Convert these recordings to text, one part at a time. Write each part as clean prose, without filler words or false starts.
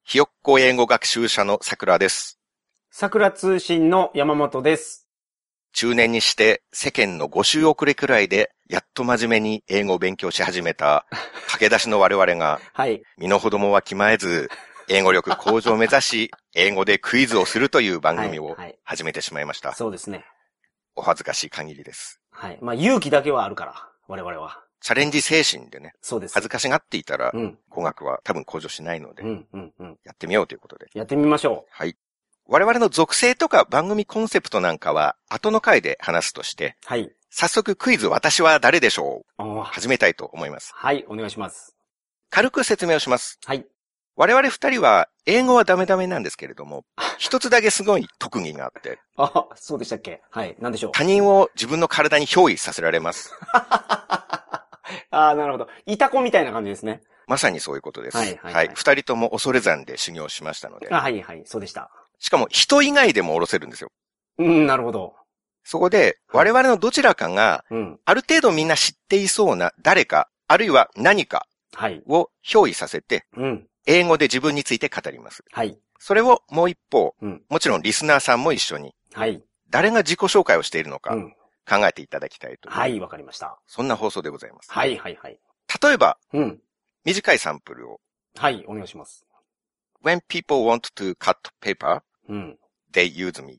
ひよっこ英語学習者の桜です。 桜通信の山本です。 中年にして世間の5週遅れくらいでやっと真面目に英語を勉強し始めた駆け出しの我々が、 はい。 身の程もわきまえず英語力向上を目指し英語でクイズをするという番組を始めてしまいました。 そうですね。 お恥ずかしい限りです。 はい。まあ勇気だけはあるから、我々は。 チャレンジ精神でね。 そうです。 恥ずかしがっていたら、語学は多分向上しないので、やってみようということで。 やってみましょう。 はい。我々の属性とか番組コンセプトなんかは後の回で話すとして、 はい。 早速クイズ私は誰でしょう始めたいと思います。 はい、お願いします。 軽く説明をします。 はい。 我々二人は英語はダメダメなんですけれども、一つだけすごい特技があって。 あ、そうでしたっけ？はい。何でしょう。 他人を自分の体に憑依させられます。 ああ、なるほど。イタコみたいな感じですね。 まさにそういうことです。 はい。 二人とも恐山で修行しましたので。 はい、そうでした。 しかも人以外でも下ろせるんですよ。 なるほど。 そこで、我々のどちらかが、ある程度みんな知っていそうな誰か、あるいは何かを憑依させて、英語で自分について語ります。 はい。 それをもう一方、もちろんリスナーさんも一緒に、誰が自己紹介をしているのか、考えていただきたいと。 はい、わかりました。 そんな放送でございます。 はい。 例えば、短いサンプルを。 はい、お願いします。 When people want to cut paper, they use me.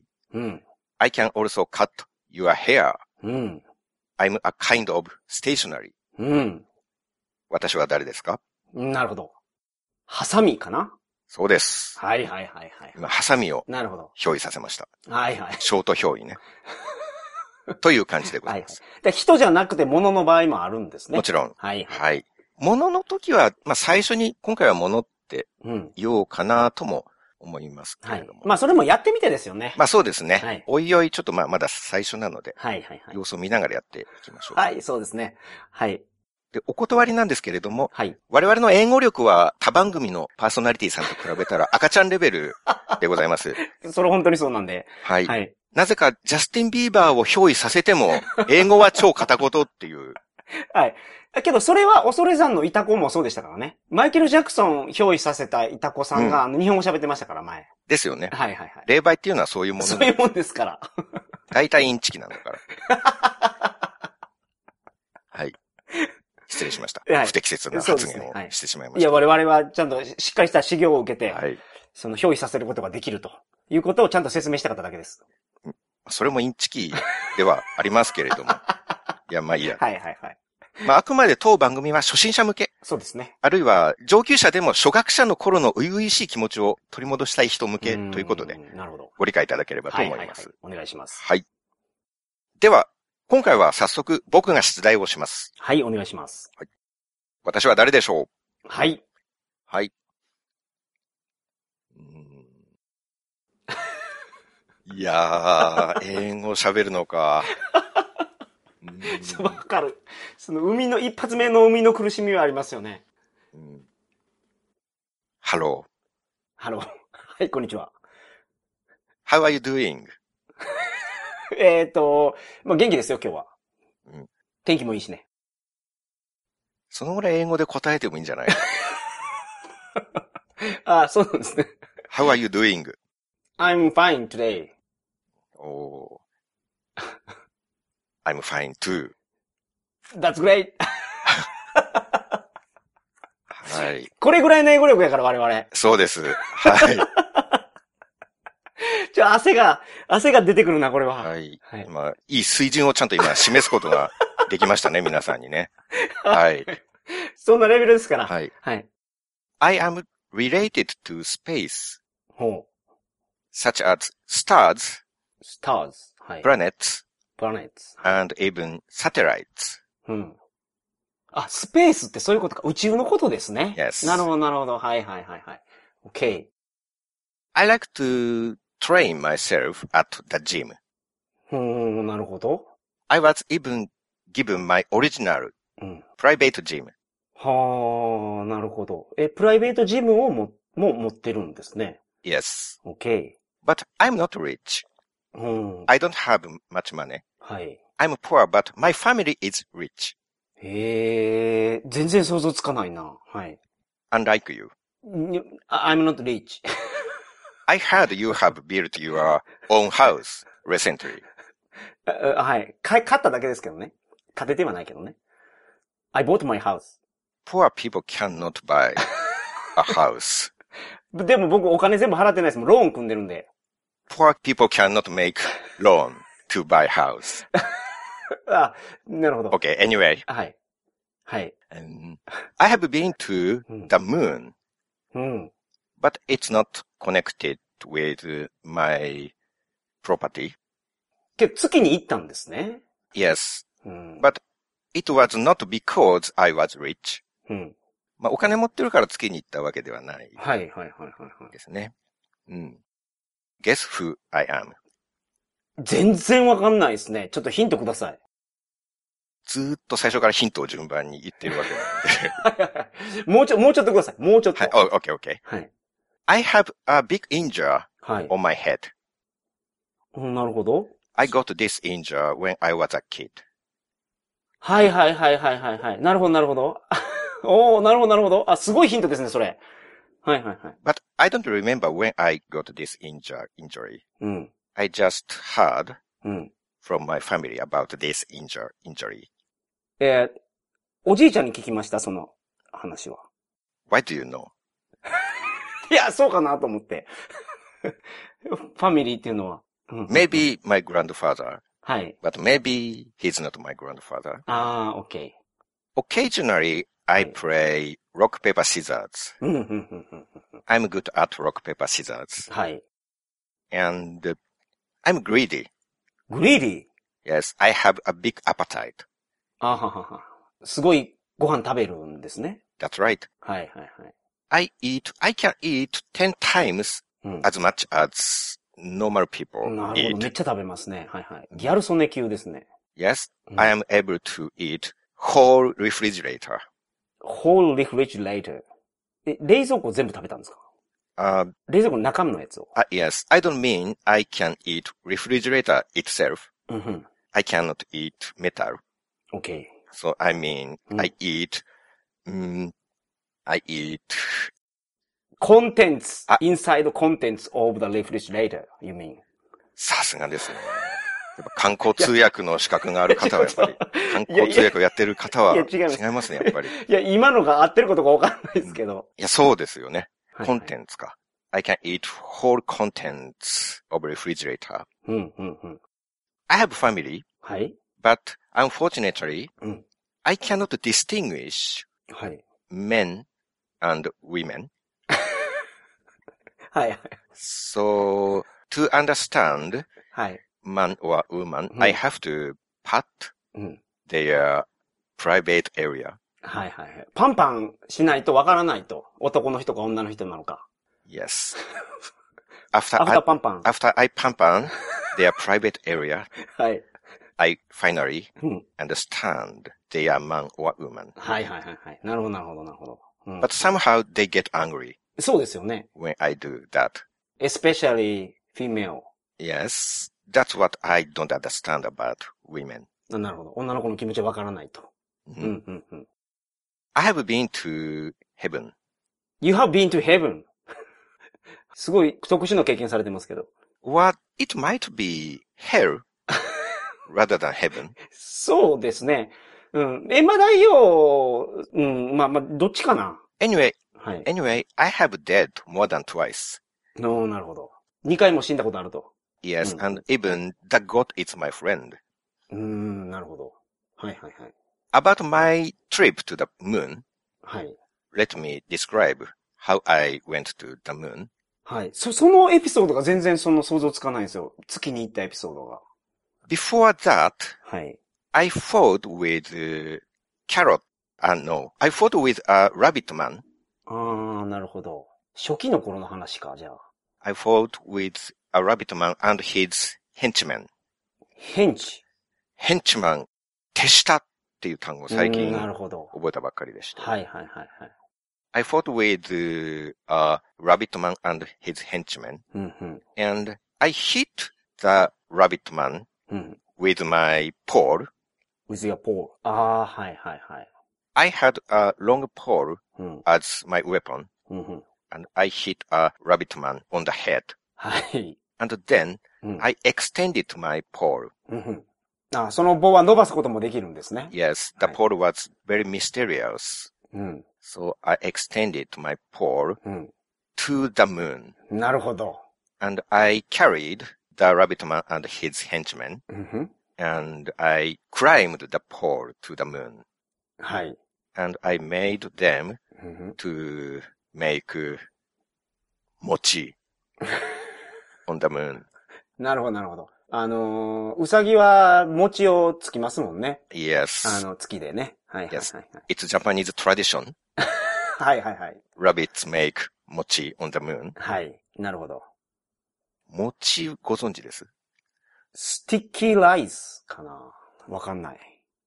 I can also cut your hair. I'm a kind of stationery. 私は誰ですか？ なるほど。ハサミかな？ そうです。 はい。 今、ハサミを憑依させました。ショート憑依ね。という感じでございます。 人じゃなくて物の場合もあるんですね。 もちろん。物の時は、最初に今回は物って言おうかなとも思いますけれども。 それもやってみてですよね。 そうですね。おいおいちょっとまだ最初なので。様子を見ながらやっていきましょう。 はい、そうですね。はい。 で、お断りなんですけれども、我々の英語力は他番組のパーソナリティさんと比べたら赤ちゃんレベルでございます。 それ本当にそうなんで。 なぜかジャスティン・ビーバーを憑依させても、英語は超片言っていう。 けどそれは恐山のイタコもそうでしたからね。マイケル・ジャクソン憑依させたイタコさんが、日本語喋ってましたから前。 ですよね。霊媒っていうのはそういうもの。 そういうもんですから。 大体インチキなんだから。失礼しました。不適切な発言をしてしまいました。 いや、我々はちゃんとしっかりした修行を受けて、その憑依させることができるということをちゃんと説明したかっただけです。 それもインチキではありますけれども。いや、いいや。あくまで当番組は初心者向け。 そうですね。 あるいは上級者でも初学者の頃の初々しい気持ちを取り戻したい人向けということで、ご理解いただければと思います。 お願いします。 では、今回は早速僕が出題をします。 はい、お願いします。 私は誰でしょう？ はい。 いやー、英語喋るのか。 わかる。その一発目のの苦しみはありますよね。 ハロー。はい、こんにちは。 How are you doing? 元気ですよ、今日は。天気もいいしね。 そのぐらい英語で答えてもいいんじゃない？ そうなんですね。 How are you doing? I'm fine today. I'm fine too. That's great. はい。 これぐらいの英語力やから我々。 そうです。 汗が出てくるな、これは。 いい水準をちゃんと今示すことができましたね、皆さんにね。 そんなレベルですから。 I am related to space. Such as stars, planets, and even satellites. スペースってそういうことか。宇宙のことですね。 Yes. なるほど。はい。OK. I like to train myself at the gym. なるほど。 I was even given my original private gym. なるほど。プライベートジムをも持ってるんですね。 Yes. OK. But I'm not rich. I don't have much money. I'm poor, but my family is rich. 全然想像つかないな。 Unlike you. I'm not rich. I heard you have built your own house recently. はい。買っただけですけどね。建ててはないけどね。I bought my house. Poor people cannot buy a house. でも僕お金全部払ってないですもん。ローン組んでるんで。 Poor people cannot make loan to buy house. あ、なるほど。 Okay, anyway. はい。はい。 I have been to the moon. うん。 But it's not connected with my property. けど月に行ったんですね。 Yes. But it was not because I was rich. まあ、お金持ってるから月に行ったわけではない。 はいはいはいはい。 ですね。Guess who I am? 全然わかんないですね。ちょっとヒントください。 ずーっと最初からヒントを順番に言ってるわけなんで。 もうちょっとください。もうちょっと。 はい、okay. はい。 I have a big injury on my head. なるほど。 I got this injury when I was a kid. はい。なるほど。おー、なるほど。あ、すごいヒントですね、それ。はい。 But I don't remember when I got this injury. I just heard from my family about this injury. おじいちゃんに聞きました、その話は。 Why do you know? いや、そうかなと思って。ファミリーっていうのは。 Maybe my grandfather. はい。 But maybe he's not my grandfather. Okay. Occasionally, I play rock, paper, scissors. I'm good at rock, paper, scissors. はい。 And I'm greedy. Greedy? Yes, I have a big appetite. すごいご飯食べるんですね。 That's right. はい。 I can eat 10 times as much as normal people なるほど。 eat. めっちゃ食べますね。はい。ギャル曽根級ですね。 Yes, I am able to eat whole refrigerator. Whole refrigerator. 冷蔵庫全部食べたんですか？冷蔵庫の中身のやつを。 Yes, I don't mean I can eat refrigerator itself. I cannot eat metal. Okay. So I mean, I eat contents, inside contents of the refrigerator, you mean? さすがですね。やっぱ観光通訳の資格がある方はやっぱり、観光通訳をやってる方は違いますね、やっぱり。 いや、今のが合ってることがわかんないですけど。 いや、そうですよね。コンテンツか。I can eat whole contents of refrigerator. I have family. はい。 But unfortunately, I cannot distinguish men and women. はい。 So, to understand man or woman, I have to pat their private area. はい。パンパンしないとわからないと。男の人か女の人なのか。 Yes. Afterパンパン。 After I pampan their private area, はい。 I finally understand they are man or woman. はい。なるほど。 But somehow they get angry. そうですよね。 When I do that. Especially female. Yes. That's what I don't understand about women. なるほど。女の子の気持ちはわからないと。 I have been to heaven. You have been to heaven. すごい特殊な経験されてますけど。 What it might be hell rather than heaven. そうですね。エマ大王、まあ、どっちかな。 Anyway, I have dead more than twice. なるほど。2回も死んだことあると。 Yes, and even the God is my friend. なるほど。はい。 About my trip to the moon. はい。 Let me describe how I went to the moon. はい。そのエピソードが全然想像つかないんですよ。月に行ったエピソードが。 Before that, はい。 I fought with carrot. No, I fought with a rabbit man. なるほど。初期の頃の話か、じゃあ。 I fought with a rabbit man and his henchman. henchman 手下っていう単語を最近覚えたばっかりでした。 はい。 I fought with a rabbit man and his henchman. And I hit the rabbit man with my pole. With your pole. はい。 I had a long pole as my weapon. and I hit a rabbit man on the head. はい。 And then, I extended my pole. その棒は伸ばすこともできるんですね。 Yes, the pole was very mysterious. So I extended my pole to the moon. なるほど。 And I carried the rabbit man and his henchmen. And I climbed the pole to the moon. はい。 And I made them to make mochi on the moon. なるほど、なるほど。うさぎは餅をつきますもんね。 Yes. 月でね。はいはいはい、はい。 Yes. It's Japanese tradition. はいはいはい。 Rabbits make mochi on the moon. はい。なるほど。 餅ご存知です？ スティッキーライスかな？わかんない。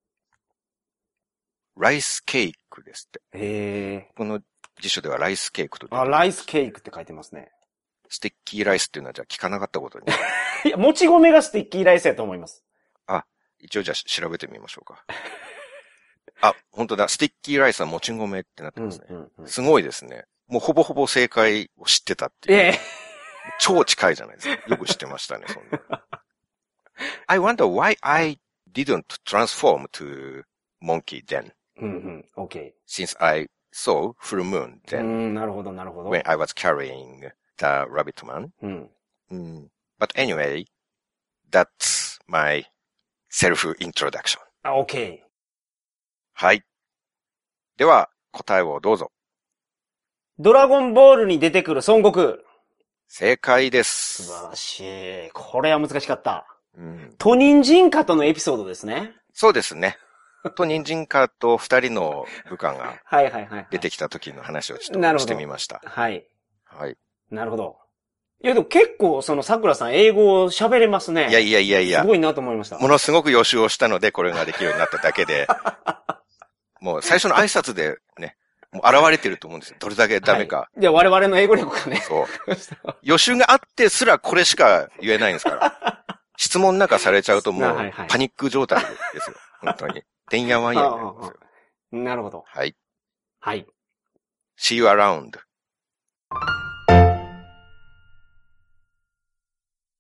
ライスケークですって。 へえ。 この辞書ではライスケークと。 ライスケークって書いてますね。 スティッキーライスっていうのはじゃあ聞かなかったことに。 いや、もち米がスティッキーライスやと思います。 一応じゃあ調べてみましょうか。本当だ。スティッキーライスはもち米ってなってますね。すごいですね。もうほぼほぼ正解を知ってたっていう。超近いじゃないですか。よく知ってましたね、そんな。I wonder why I didn't transform to monkey then. Okay. Since I saw full moon then. なるほど、なるほど。 When I was carrying the rabbit man. But anyway, that's my self-introduction. Okay. はい。では、答えをどうぞ。 ドラゴンボールに出てくる孫悟空。 正解です。 素晴らしい。これは難しかった。 ト人参家とのエピソードですね。 そうですね。と人参家と二人の部下が出てきた時の話をちょっとしてみました。 はい。 はい。 なるほど。いやでも結構桜さん英語を喋れますね。 いや。 すごいなと思いました。 ものすごく予習をしたのでこれができるようになっただけで、もう最初の挨拶でね、もう現れてると思うんですよ。どれだけダメか。 いや、我々の英語力がね。 そう。予習があってすらこれしか言えないんですから。質問なんかされちゃうともうパニック状態ですよ。本当に。てんやわんやになりますよ。 なるほど。 はい。 はい。 See you around.